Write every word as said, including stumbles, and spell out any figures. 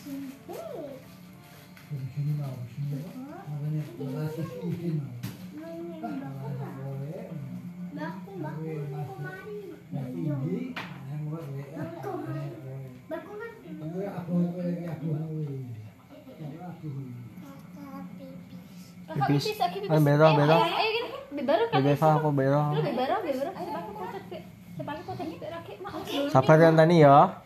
Di sini mau, di sini makanya relasi sini mau. Baku baku kemari. Tinggi, yang buat W A. Baku kan. Aku aku lagi aku hawi. Aku. Pipis. Ay, bero, bero. Ayo gini, bibaro ka. Bebesa ako, bero. Bibaro, bibaro. Ay, bakit po sa sa bakit po tayo laki ma. Sabar yan tani ya.